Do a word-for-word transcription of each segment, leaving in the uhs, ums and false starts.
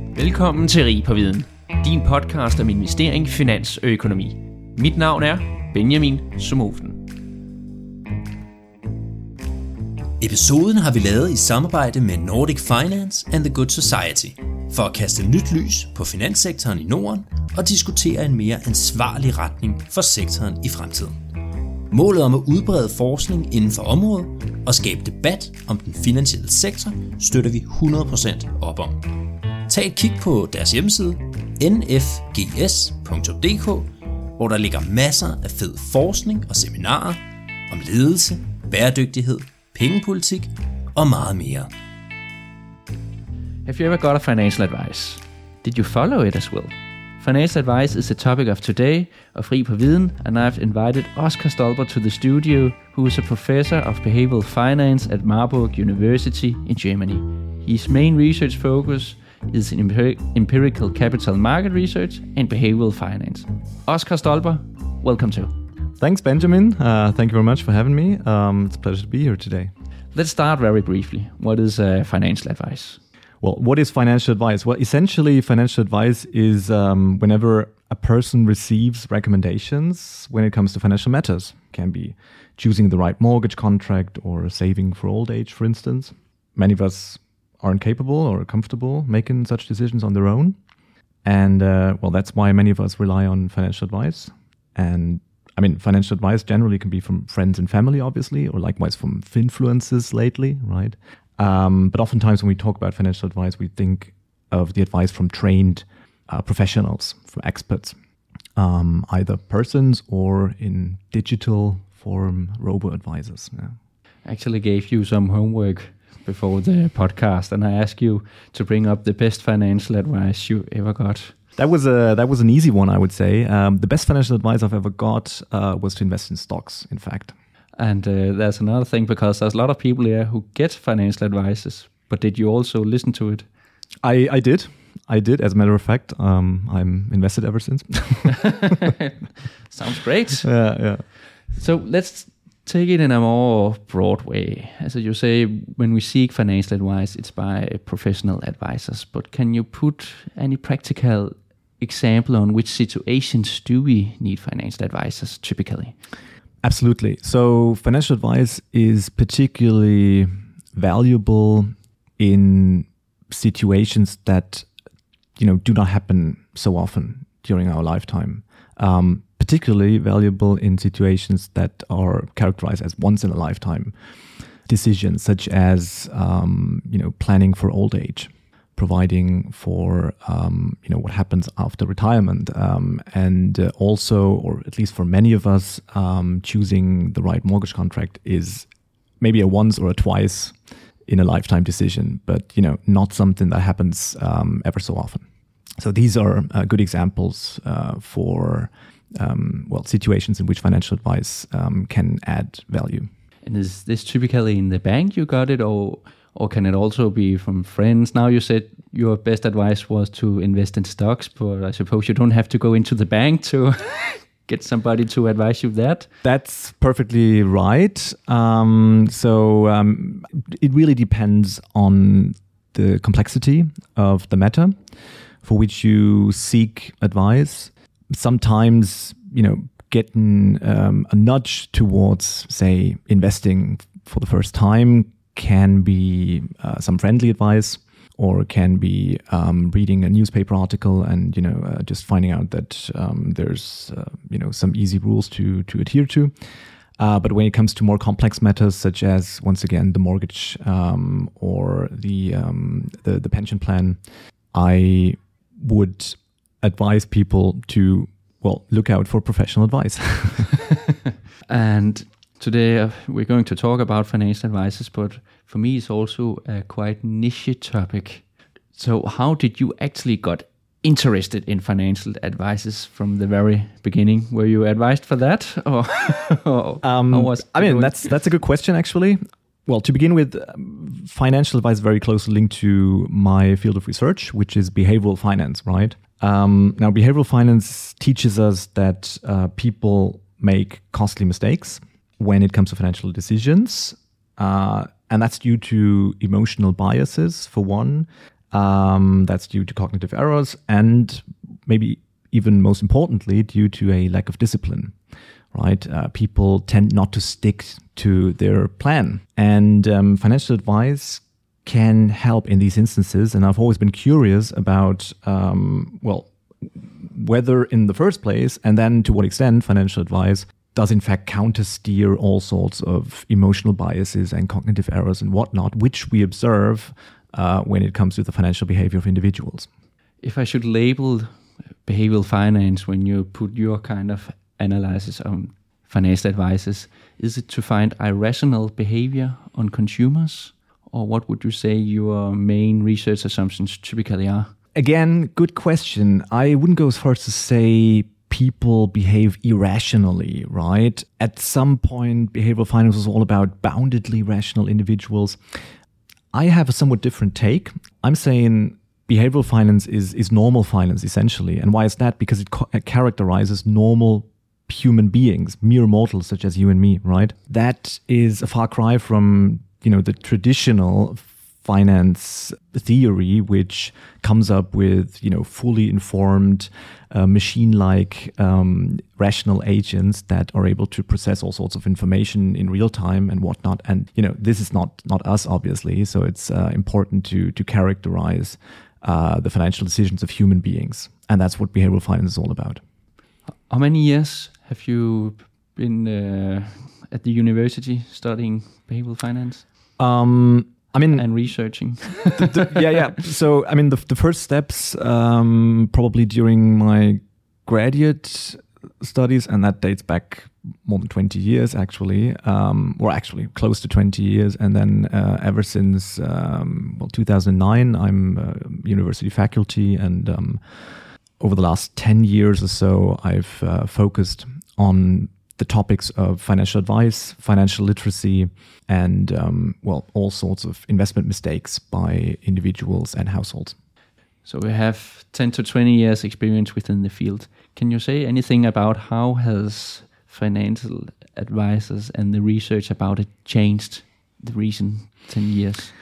Velkommen til Rig på Viden, din podcast om investering, finans og økonomi. Mit navn er Benjamin Somofen. Episoden har vi lavet i samarbejde med Nordic Finance and the Good Society for at kaste nyt lys på finanssektoren i Norden og diskutere en mere ansvarlig retning for sektoren i fremtiden. Målet om at udbrede forskning inden for området og skabe debat om den finansielle sektor støtter vi hundrede procent op om. Tag et kig på deres hjemmeside n f g s punktum d k, hvor der ligger masser af fed forskning og seminarer om ledelse, bæredygtighed, pengepolitik og meget mere. Have you ever got a financial advice? Did you follow it as well? Financial advice is the topic of today of Rig på Viden, and I've invited Oscar Stolper to the studio, who is a professor of behavioral finance at Marburg University in Germany. His main research focus is in empir- empirical capital market research and behavioral finance. Oscar Stolper, welcome to. Thanks, Benjamin. Uh, thank you very much for having me. Um, it's a pleasure to be here today. Let's start very briefly. What is uh, financial advice? Well, what is financial advice? Well, essentially, financial advice is um, whenever a person receives recommendations when it comes to financial matters. It can be choosing the right mortgage contract or saving for old age, for instance. Many of us aren't capable or comfortable making such decisions on their own. And, uh, well, that's why many of us rely on financial advice. And, I mean, financial advice generally can be from friends and family, obviously, or likewise from influencers lately, right? Um, but oftentimes when we talk about financial advice, we think of the advice from trained uh, professionals, from experts, um, either persons or in digital form, robo-advisors. Yeah. I actually gave you some homework before the podcast, and I asked you to bring up the best financial advice you ever got. That was a that was an easy one, I would say. Um, the best financial advice I've ever got uh, was to invest in stocks, in fact. And uh, there's another thing, because there's a lot of people here who get financial advices, but did you also listen to it? I, I did. I did, as a matter of fact. Um, I'm invested ever since. Sounds great. Yeah, yeah. So let's take it in a more broad way. As you say, when we seek financial advice, it's by professional advisors. But can you put any practical example on which situations do we need financial advisors typically? Absolutely. So financial advice is particularly valuable in situations that, you know, do not happen so often during our lifetime. Um, particularly valuable in situations that are characterized as once in a lifetime decisions, such as, um, you know, planning for old age, providing for, um, you know, what happens after retirement, um, and uh, also, or at least for many of us, um, choosing the right mortgage contract is maybe a once or a twice in a lifetime decision, but, you know, not something that happens um, ever so often. So these are uh, good examples uh, for, um, well, situations in which financial advice um, can add value. And is this typically in the bank you got it, or or can it also be from friends? Now you said your best advice was to invest in stocks, but I suppose you don't have to go into the bank to get somebody to advise you that? That's perfectly right. Um, so um, it really depends on the complexity of the matter for which you seek advice. Sometimes, you know, getting um, a nudge towards, say, investing for the first time can be uh, some friendly advice, or can be um, reading a newspaper article and, you know, uh, just finding out that um, there's, uh, you know, some easy rules to to adhere to. Uh, but when it comes to more complex matters, such as, once again, the mortgage um, or the, um, the the pension plan, I would advise people to, well, look out for professional advice. And today uh, we're going to talk about financial advices, but for me it's also a quite niche topic. So how did you actually got interested in financial advices from the very beginning? Were you advised for that? Or, or um, how was I mean, going? that's that's a good question, actually. Well, to begin with, um, financial advice is very closely linked to my field of research, which is behavioral finance, right? Um, now, behavioral finance teaches us that uh, people make costly mistakes when it comes to financial decisions. Uh, and that's due to emotional biases, for one, Um, that's due to cognitive errors and maybe even most importantly, due to a lack of discipline, right? Uh, people tend not to stick to their plan. And um, financial advice can help in these instances. And I've always been curious about, um, well, whether in the first place, and then to what extent financial advice does in fact countersteer all sorts of emotional biases and cognitive errors and whatnot, which we observe uh, when it comes to the financial behavior of individuals. If I should label behavioral finance when you put your kind of analysis on financial advices, is it to find irrational behavior on consumers? Or what would you say your main research assumptions typically are? Again, good question. I wouldn't go as far as to say people behave irrationally, right? At some point, behavioral finance was all about boundedly rational individuals. I have a somewhat different take. I'm saying behavioral finance is, is normal finance, essentially. And why is that? Because it, co- it characterizes normal human beings, mere mortals such as you and me, right? That is a far cry from, you know, the traditional finance theory, which comes up with, you know, fully informed, uh, machine-like um, rational agents that are able to process all sorts of information in real time and whatnot. And, you know, this is not not us, obviously. So it's uh, important to to characterize uh, the financial decisions of human beings. And that's what behavioral finance is all about. How many years have you been uh, at the university studying behavioral finance? Um, I mean, and researching. the, the, yeah, yeah. So, I mean, the the first steps um, probably during my graduate studies, and that dates back more than twenty years, actually, um, or actually close to twenty years. And then uh, ever since um, well, two thousand nine, I'm a university faculty, and um, over the last ten years or so, I've uh, focused on the topics of financial advice, financial literacy, and, um, well, all sorts of investment mistakes by individuals and households. So we have ten to twenty years experience within the field. Can you say anything about how has financial advisors and the research about it changed the recent ten years?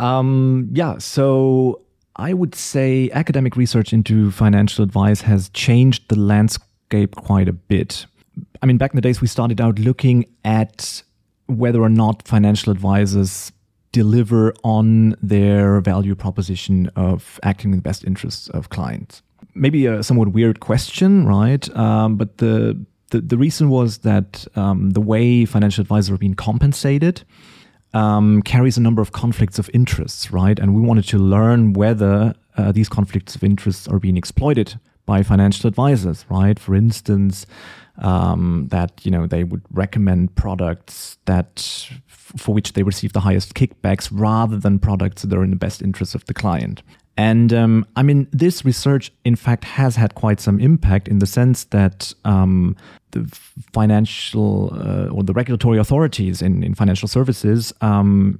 Um, yeah, so I would say academic research into financial advice has changed the landscape quite a bit. I mean, back in the days, we started out looking at whether or not financial advisors deliver on their value proposition of acting in the best interests of clients. Maybe a somewhat weird question, right? Um, but the, the the reason was that um, the way financial advisors are being compensated um, carries a number of conflicts of interests, right? And we wanted to learn whether uh, these conflicts of interests are being exploited by financial advisors, right? For instance, um, that, you know, they would recommend products that f- for which they receive the highest kickbacks rather than products that are in the best interest of the client. And um, I mean, this research, in fact, has had quite some impact in the sense that um, the financial uh, or the regulatory authorities in, in financial services um,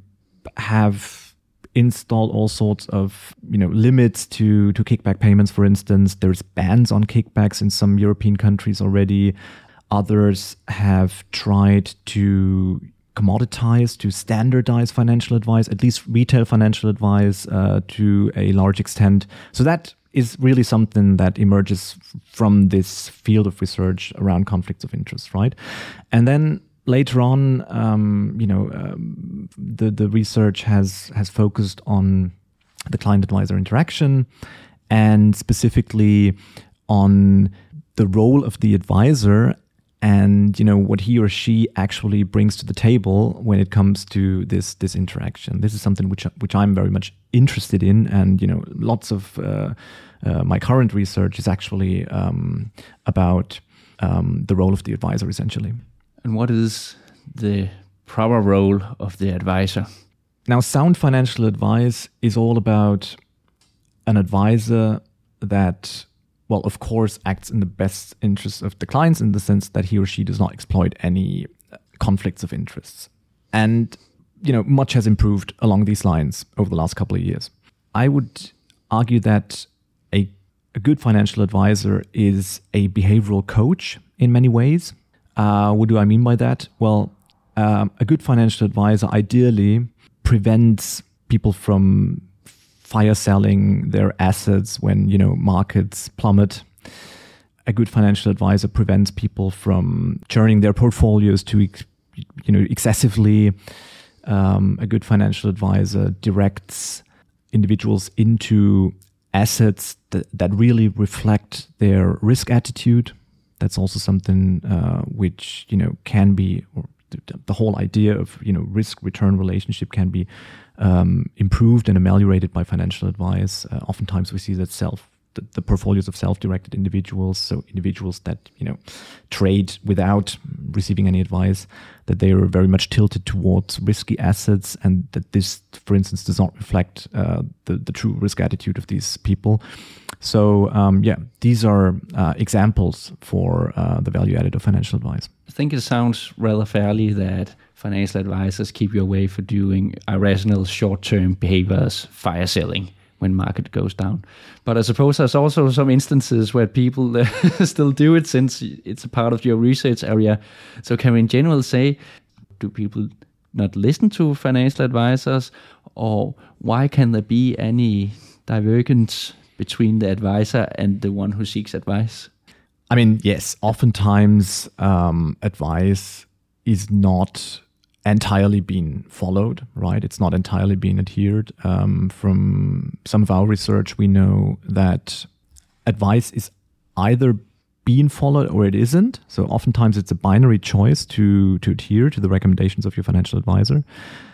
have installed all sorts of, you know, limits to, to kickback payments, for instance. There's bans on kickbacks in some European countries already. Others have tried to commoditize, to standardize financial advice, at least retail financial advice uh, to a large extent. So that is really something that emerges from this field of research around conflicts of interest, right? And then later on, um, you know, um, the the research has has focused on the client-advisor interaction, and specifically on the role of the advisor, and, you know, what he or she actually brings to the table when it comes to this this interaction. This is something which which I'm very much interested in, and, you know, lots of uh, uh, my current research is actually um, about um, the role of the advisor, essentially. And what is the proper role of the advisor? Now, sound financial advice is all about an advisor that, well, of course, acts in the best interest of the clients in the sense that he or she does not exploit any conflicts of interests. And, you know, much has improved along these lines over the last couple of years. I would argue that a, a good financial advisor is a behavioral coach in many ways. Uh, what do I mean by that? Well, um, a good financial advisor ideally prevents people from fire selling their assets when, you know, markets plummet. A good financial advisor prevents people from churning their portfolios too, you know, excessively. Um, a good financial advisor directs individuals into assets that, that really reflect their risk attitude. That's also something uh, which, you know, can be, or the, the whole idea of, you know, risk-return relationship can be um, improved and ameliorated by financial advice. Uh, oftentimes we see that self, the, the portfolios of self-directed individuals, so individuals that, you know, trade without receiving any advice, that they are very much tilted towards risky assets, and that this, for instance, does not reflect uh, the, the true risk attitude of these people. So, um, yeah, these are uh, examples for uh, the value added of financial advice. I think it sounds rather fairly that financial advisors keep you away from doing irrational short-term behaviors, fire selling when market goes down. But I suppose there's also some instances where people uh, still do it, since it's a part of your research area. So can we in general say, do people not listen to financial advisors, or why can there be any divergence between the advisor and the one who seeks advice? I mean, yes, oftentimes um, advice is not entirely being followed, right? It's not entirely being adhered. Um, from some of our research, we know that advice is either being followed or it isn't. So oftentimes it's a binary choice to, to adhere to the recommendations of your financial advisor.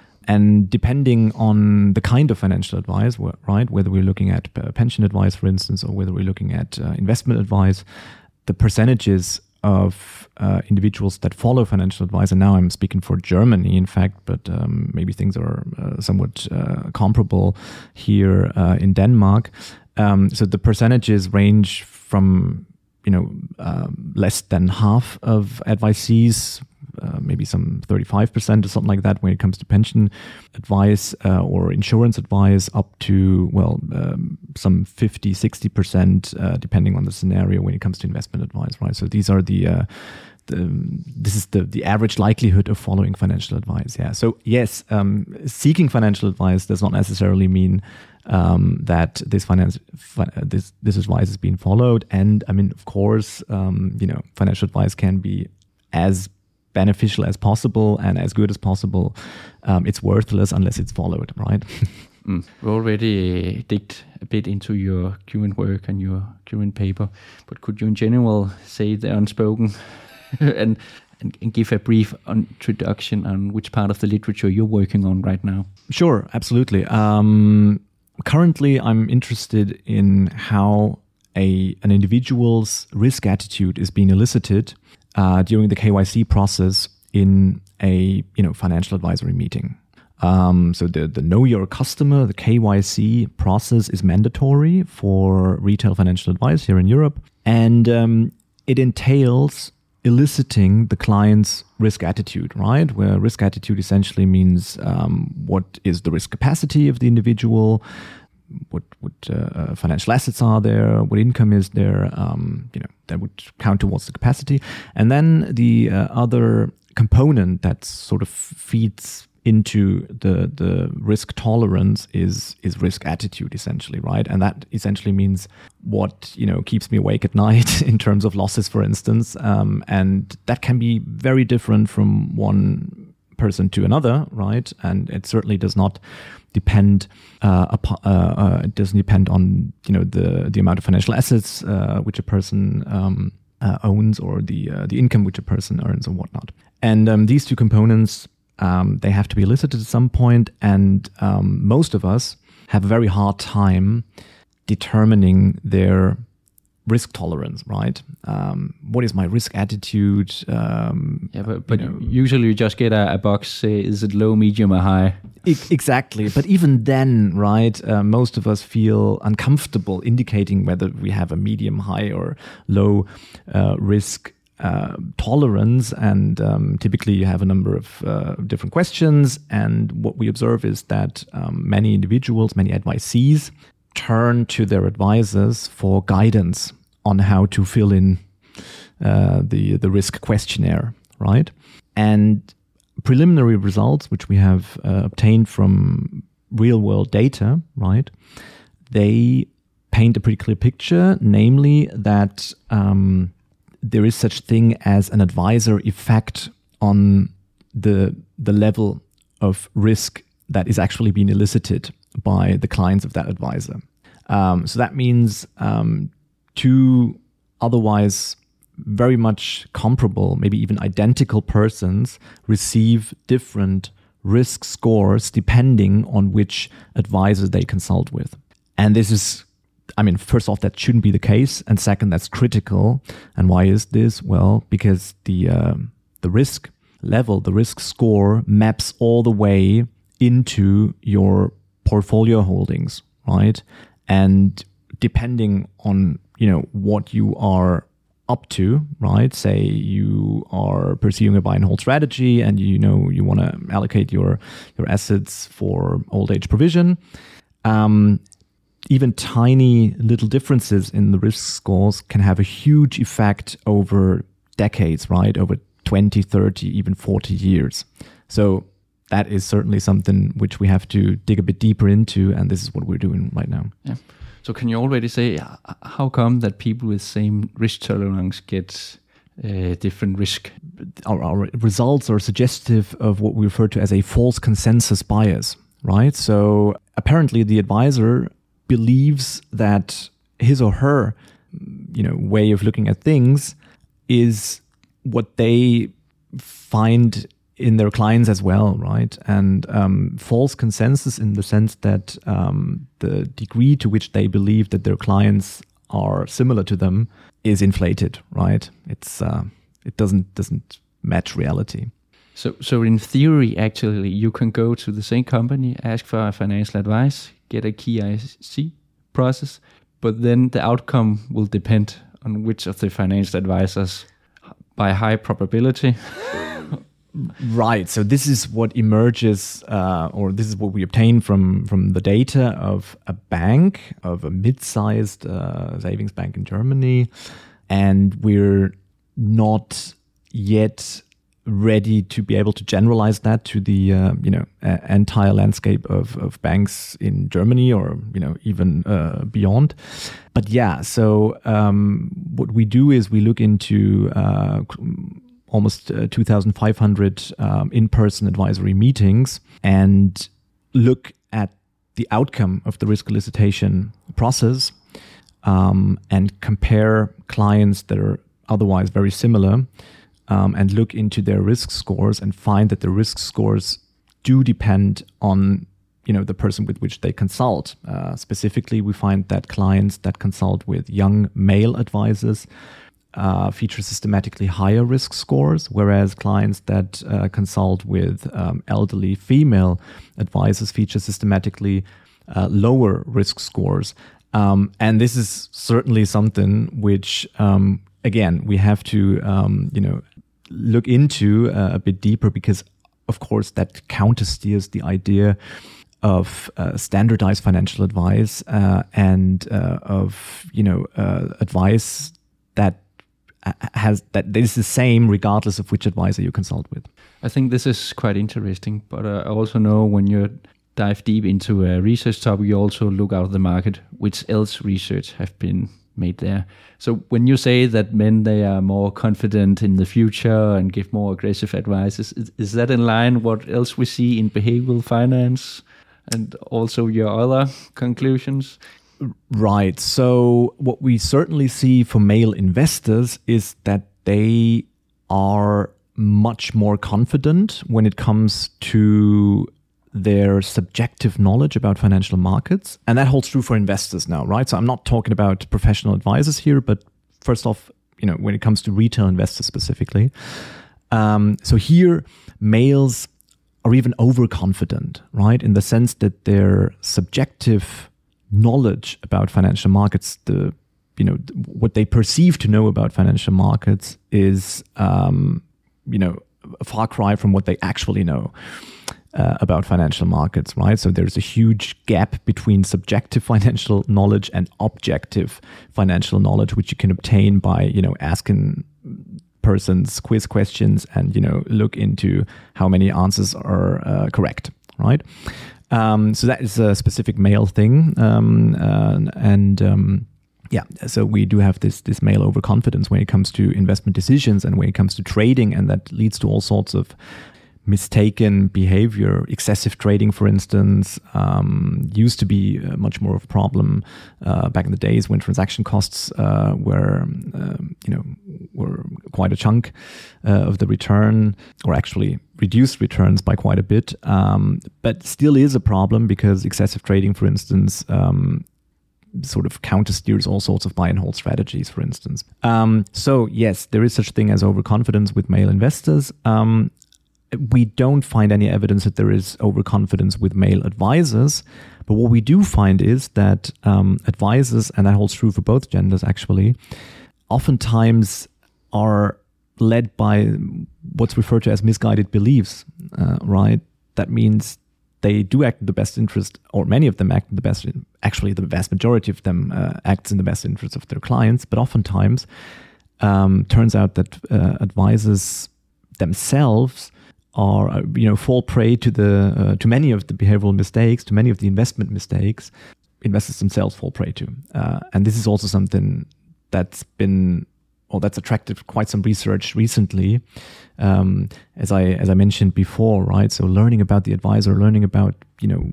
And depending on the kind of financial advice, right, whether we're looking at pension advice, for instance, or whether we're looking at uh, investment advice, the percentages of uh, individuals that follow financial advice, and now I'm speaking for Germany, in fact, but um, maybe things are uh, somewhat uh, comparable here uh, in Denmark. Um, so the percentages range from, you know, uh, less than half of advisees, uh, maybe some thirty-five percent or something like that when it comes to pension advice uh, or insurance advice, up to, well, um, some fifty, sixty percent uh, depending on the scenario when it comes to investment advice, right? So these are the, uh, the this is the, the average likelihood of following financial advice, yeah. So yes, um, seeking financial advice does not necessarily mean um, that this finance fi- this this advice is being followed. And I mean, of course, um, you know, financial advice can be as beneficial as possible and as good as possible. Um, it's worthless unless it's followed, right? mm. We already uh, digged a bit into your current work and your current paper, but could you in general say the unspoken and, and, and give a brief introduction on which part of the literature you're working on right now? Sure, absolutely. Um, currently, I'm interested in how a an individual's risk attitude is being elicited Uh, during the K Y C process in a you know financial advisory meeting. Um, so the, the Know Your Customer, the K Y C process is mandatory for retail financial advice here in Europe. And um, it entails eliciting the client's risk attitude, right? Where risk attitude essentially means um, what is the risk capacity of the individual, what what uh, financial assets are there, what income is there, um, you know, that would count towards the capacity. And then the uh, other component that sort of feeds into the the risk tolerance is is risk attitude, essentially, right? And that essentially means what, you know, keeps me awake at night in terms of losses, for instance. Um, and that can be very different from one person to another, right? And it certainly does not depend uh, upon, uh, uh, it doesn't depend on, you know, the the amount of financial assets uh, which a person um, uh, owns, or the uh, the income which a person earns, or whatnot. And um, these two components, um, they have to be elicited at some point, and um, most of us have a very hard time determining their risk tolerance, right? Um, what is my risk attitude? Um, yeah, but, but you know, usually you just get a, a box, say, is it low, medium, or high? E- exactly. But even then, right, uh, most of us feel uncomfortable indicating whether we have a medium, high, or low uh, risk uh, tolerance. And um, typically you have a number of uh, different questions. And what we observe is that um, many individuals, many advisees, turn to their advisors for guidance on how to fill in uh, the the risk questionnaire, right? And preliminary results, which we have uh, obtained from real world data, right, they paint a pretty clear picture, namely that um, there is such thing as an advisor effect on the the level of risk that is actually being elicited by the clients of that advisor. Um, so that means um, two otherwise very much comparable, maybe even identical persons receive different risk scores depending on which advisor they consult with. And this is, I mean, first off, that shouldn't be the case. And second, that's critical. And why is this? Well, because the uh, the risk level, the risk score maps all the way into your portfolio holdings, right? And depending on, you know, what you are up to, right? Say you are pursuing a buy and hold strategy and you know you want to allocate your your assets for old age provision. Um, even tiny little differences in the risk scores can have a huge effect over decades, right? Over twenty, thirty, even forty years. So that is certainly something which we have to dig a bit deeper into, and this is what we're doing right now. Yeah. So can you already say how come that people with same risk tolerance get uh, different risk? Our, our results are suggestive of what we refer to as a false consensus bias, right? So apparently the advisor believes that his or her, you know, way of looking at things is what they find in their clients as well, right? And um, false consensus in the sense that um, the degree to which they believe that their clients are similar to them is inflated, right? It's uh, it doesn't doesn't match reality. So, so in theory, actually, you can go to the same company, ask for financial advice, get a K Y C process, but then the outcome will depend on which of the financial advisors, by high probability. Right. So this is what emerges, uh, or this is what we obtain from from the data of a bank, of a mid-sized uh, savings bank in Germany, and we're not yet ready to be able to generalize that to the uh, you know uh, entire landscape of of banks in Germany, or you know even uh, beyond. But yeah, so um, what we do is we look into uh, almost uh, two thousand five hundred um, in-person advisory meetings and look at the outcome of the risk elicitation process um, and compare clients that are otherwise very similar um, and look into their risk scores and find that the risk scores do depend on you know the person with which they consult. Uh, specifically, we find that clients that consult with young male advisors Uh, feature systematically higher risk scores, whereas clients that uh, consult with um, elderly female advisors feature systematically uh, lower risk scores. Um, and this is certainly something which, um, again, we have to, um, you know, look into uh, a bit deeper, because, of course, that countersteers the idea of uh, standardized financial advice uh, and uh, of, you know, uh, advice that has that is the same regardless of which advisor you consult with. I think this is quite interesting, but uh, I also know when you dive deep into a research topic, you also look out of the market, which else research have been made there. So when you say that men, they are more confident in the future and give more aggressive advice, is, is that in line what else we see in behavioral finance and also your other conclusions? Right. So what we certainly see for male investors is that they are much more confident when it comes to their subjective knowledge about financial markets. And that holds true for investors now, right? So I'm not talking about professional advisors here, but first off, you know, when it comes to retail investors specifically. Um, so here, males are even overconfident, right? In the sense that their subjective knowledge about financial markets, the you know what they perceive to know about financial markets is um, you know a far cry from what they actually know uh, about financial markets, right? So there's a huge gap between subjective financial knowledge and objective financial knowledge, which you can obtain by you know asking persons quiz questions and you know look into how many answers are uh, correct, right? Um, so that is a specific male thing. Um, uh, and um, yeah, so we do have this this male overconfidence when it comes to investment decisions and when it comes to trading, and that leads to all sorts of mistaken behavior. Excessive trading, for instance, um, used to be uh, much more of a problem uh, back in the days when transaction costs uh, were, um, you know, were quite a chunk uh, of the return, or actually reduced returns by quite a bit. Um, but still is a problem because excessive trading, for instance, um, sort of countersteers all sorts of buy and hold strategies, for instance. Um, so yes, there is such thing as overconfidence with male investors. Um, We don't find any evidence that there is overconfidence with male advisors. But what we do find is that um, advisors, and that holds true for both genders actually, oftentimes are led by what's referred to as misguided beliefs, uh, right? That means they do act in the best interest, or many of them act in the best, actually the vast majority of them uh, acts in the best interest of their clients. But oftentimes um, turns out that uh, advisors themselves are, you know, fall prey to the uh, to many of the behavioral mistakes, to many of the investment mistakes investors themselves fall prey to. Uh, and this is also something that's been, or that's attracted quite some research recently, um, as I as I mentioned before, right? So learning about the advisor, learning about, you know,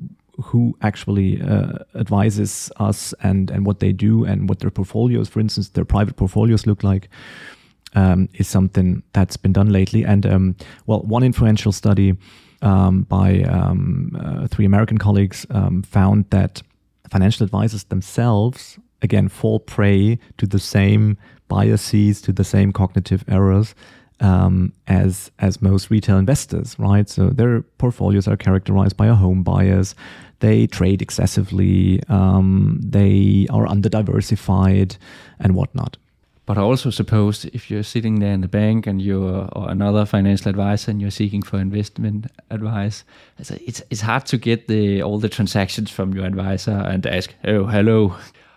who actually uh, advises us and and what they do and what their portfolios, for instance, their private portfolios look like. Um, is something that's been done lately. And um, well, one influential study um, by um, uh, three American colleagues um, found that financial advisors themselves, again, fall prey to the same biases, to the same cognitive errors um, as as most retail investors, right? So their portfolios are characterized by a home bias. They trade excessively. Um, they are under-diversified and whatnot. But I also suppose if you're sitting there in the bank and you're or another financial advisor and you're seeking for investment advice, it's it's hard to get the all the transactions from your advisor and ask, oh, hello,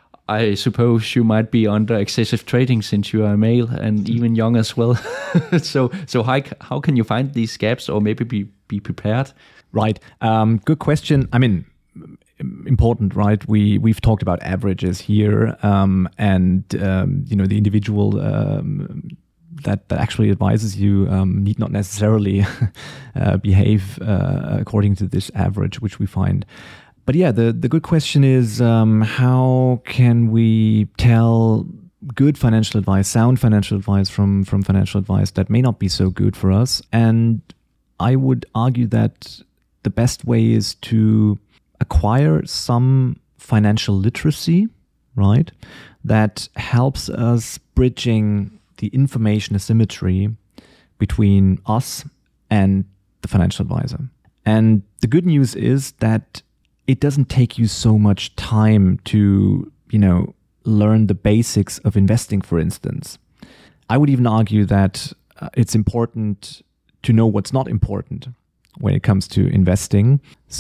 I suppose you might be under excessive trading since you are a male and even young as well. so so how, how can you find these gaps or maybe be, be prepared? Right. Um, good question. I mean, important, right? We we've talked about averages here, um, and um, you know, the individual um, that that actually advises you um, need not necessarily uh, behave uh, according to this average, which we find. But yeah, the the good question is um, how can we tell good financial advice, sound financial advice from from financial advice that may not be so good for us? And I would argue that the best way is to acquire some financial literacy, right? That helps us bridging the information asymmetry between us and the financial advisor. And the good news is that it doesn't take you so much time to, you know, learn the basics of investing, for instance. I would even argue that uh, it's important to know what's not important when it comes to investing.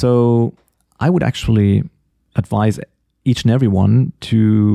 So I would actually advise each and everyone to,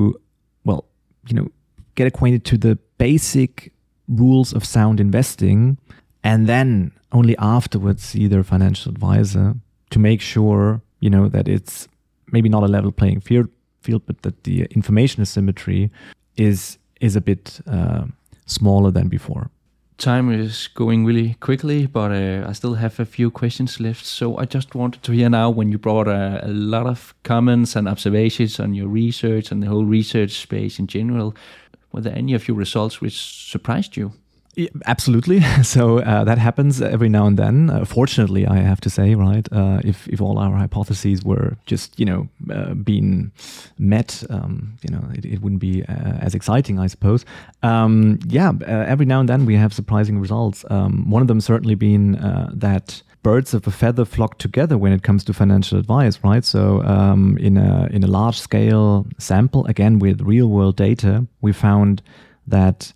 well, you know, get acquainted to the basic rules of sound investing, and then only afterwards see their financial advisor to make sure, you know, that it's maybe not a level playing field, field but that the information asymmetry is is a bit uh, smaller than before. Time is going really quickly, but uh, I still have a few questions left. So I just wanted to hear now, when you brought a, a lot of comments and observations on your research and the whole research space in general, were there any of your results which surprised you? Yeah, absolutely. So uh, that happens every now and then. Uh, fortunately, I have to say, right? Uh, if if all our hypotheses were just, you know, uh, being met, um, you know, it, it wouldn't be uh, as exciting, I suppose. Um, yeah, uh, every now and then we have surprising results. Um, one of them certainly being uh, that birds of a feather flock together when it comes to financial advice, right? So um, in a in a large scale sample, again with real world data, we found that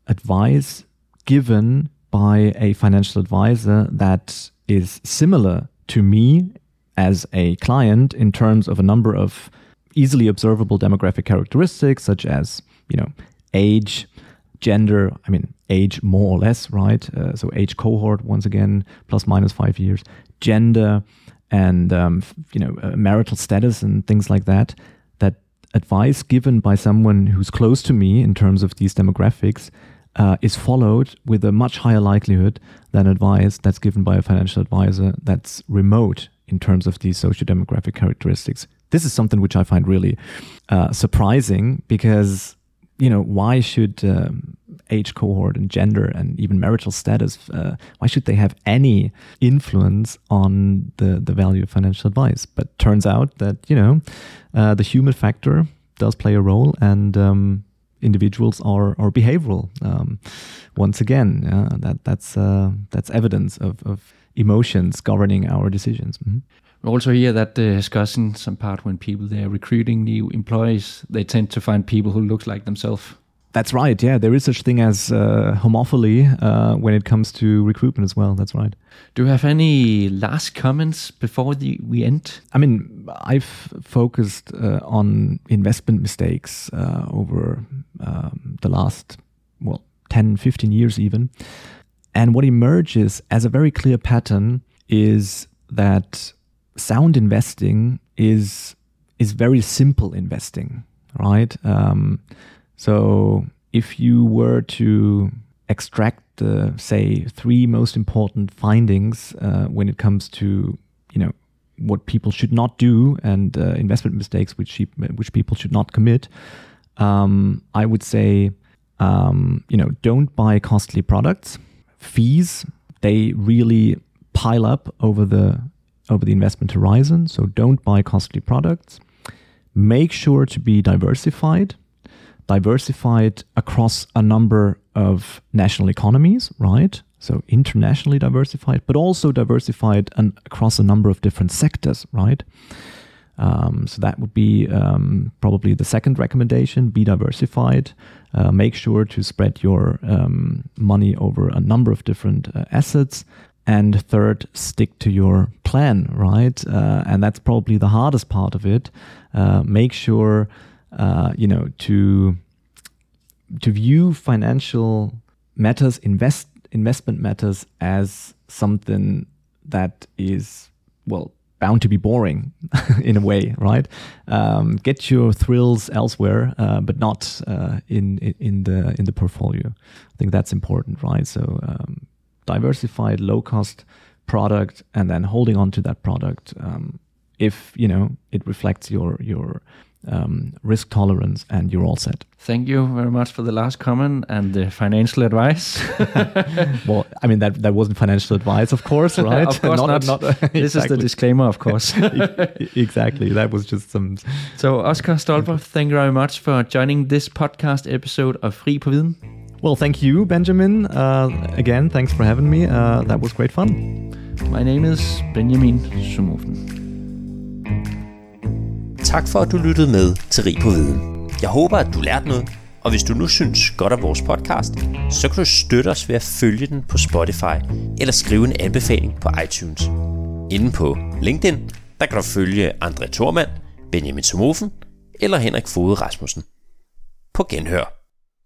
advice given by a financial advisor that is similar to me as a client in terms of a number of easily observable demographic characteristics, such as, you know, age, gender, I mean, age more or less, right? Uh, so age cohort, once again, plus minus five years, gender, and um, you know uh, marital status and things like that, that advice given by someone who's close to me in terms of these demographics uh, is followed with a much higher likelihood than advice that's given by a financial advisor that's remote in terms of these socio-demographic characteristics. This is something which I find really uh, surprising, because, you know, why should um, age cohort and gender and even marital status, uh, why should they have any influence on the, the value of financial advice? But turns out that, you know, uh, the human factor does play a role, and um, individuals are, are behavioral. Um, once again, uh, that that's uh, that's evidence of, of emotions governing our decisions. Mm-hmm. We also hear that the discussion some part when people they are recruiting new employees, they tend to find people who look like themselves. That's right. Yeah, there is such thing as uh, homophily uh, when it comes to recruitment as well. That's right. Do you have any last comments before the, we end? I mean, I've focused uh, on investment mistakes uh, over um, the last, well, ten, fifteen years even. And what emerges as a very clear pattern is that sound investing is is very simple investing, right? Um, so if you were to extract the, say, three most important findings uh, when it comes to, you know, what people should not do and uh, investment mistakes which she, which people should not commit, um, I would say, um, you know, don't buy costly products. Fees, they really pile up over the over the investment horizon. So don't buy costly products. Make sure to be diversified, diversified across a number of national economies, right? So internationally diversified, but also diversified and across a number of different sectors, right? Um, so that would be um, probably the second recommendation, be diversified. Uh, make sure to spread your um, money over a number of different uh, assets. And third, stick to your plan, right? Uh, and that's probably the hardest part of it. Uh, make sure, uh, you know, to to view financial matters, invest investment matters as something that is, well, bound to be boring in a way, right? Um, get your thrills elsewhere, uh, but not uh, in in the in the portfolio. I think that's important, right? So. Um, diversified, low-cost product, and then holding on to that product um, if, you know, it reflects your your um, risk tolerance, and you're all set. Thank you very much for the last comment and the financial advice. Well, I mean, that that wasn't financial advice, of course, right? Of course not. not. not this exactly. is the disclaimer, of course. Exactly. That was just some... So, Oscar Stolper, thank you very much for joining this podcast episode of Fri på Viden. Well, thank you, Benjamin. Uh, again, thanks for having me. Uh, that was great fun. My name is Benjamin Somofen. Tak for, at du lyttede med til Rig på Viden. Jeg håber, at du lærte noget, og hvis du nu synes godt af vores podcast, så kan du støtte os ved at følge den på Spotify eller skrive en anbefaling på iTunes. Inde på LinkedIn, der kan du følge André Thormand, Benjamin Somofen eller Henrik Foged Rasmussen. På genhør.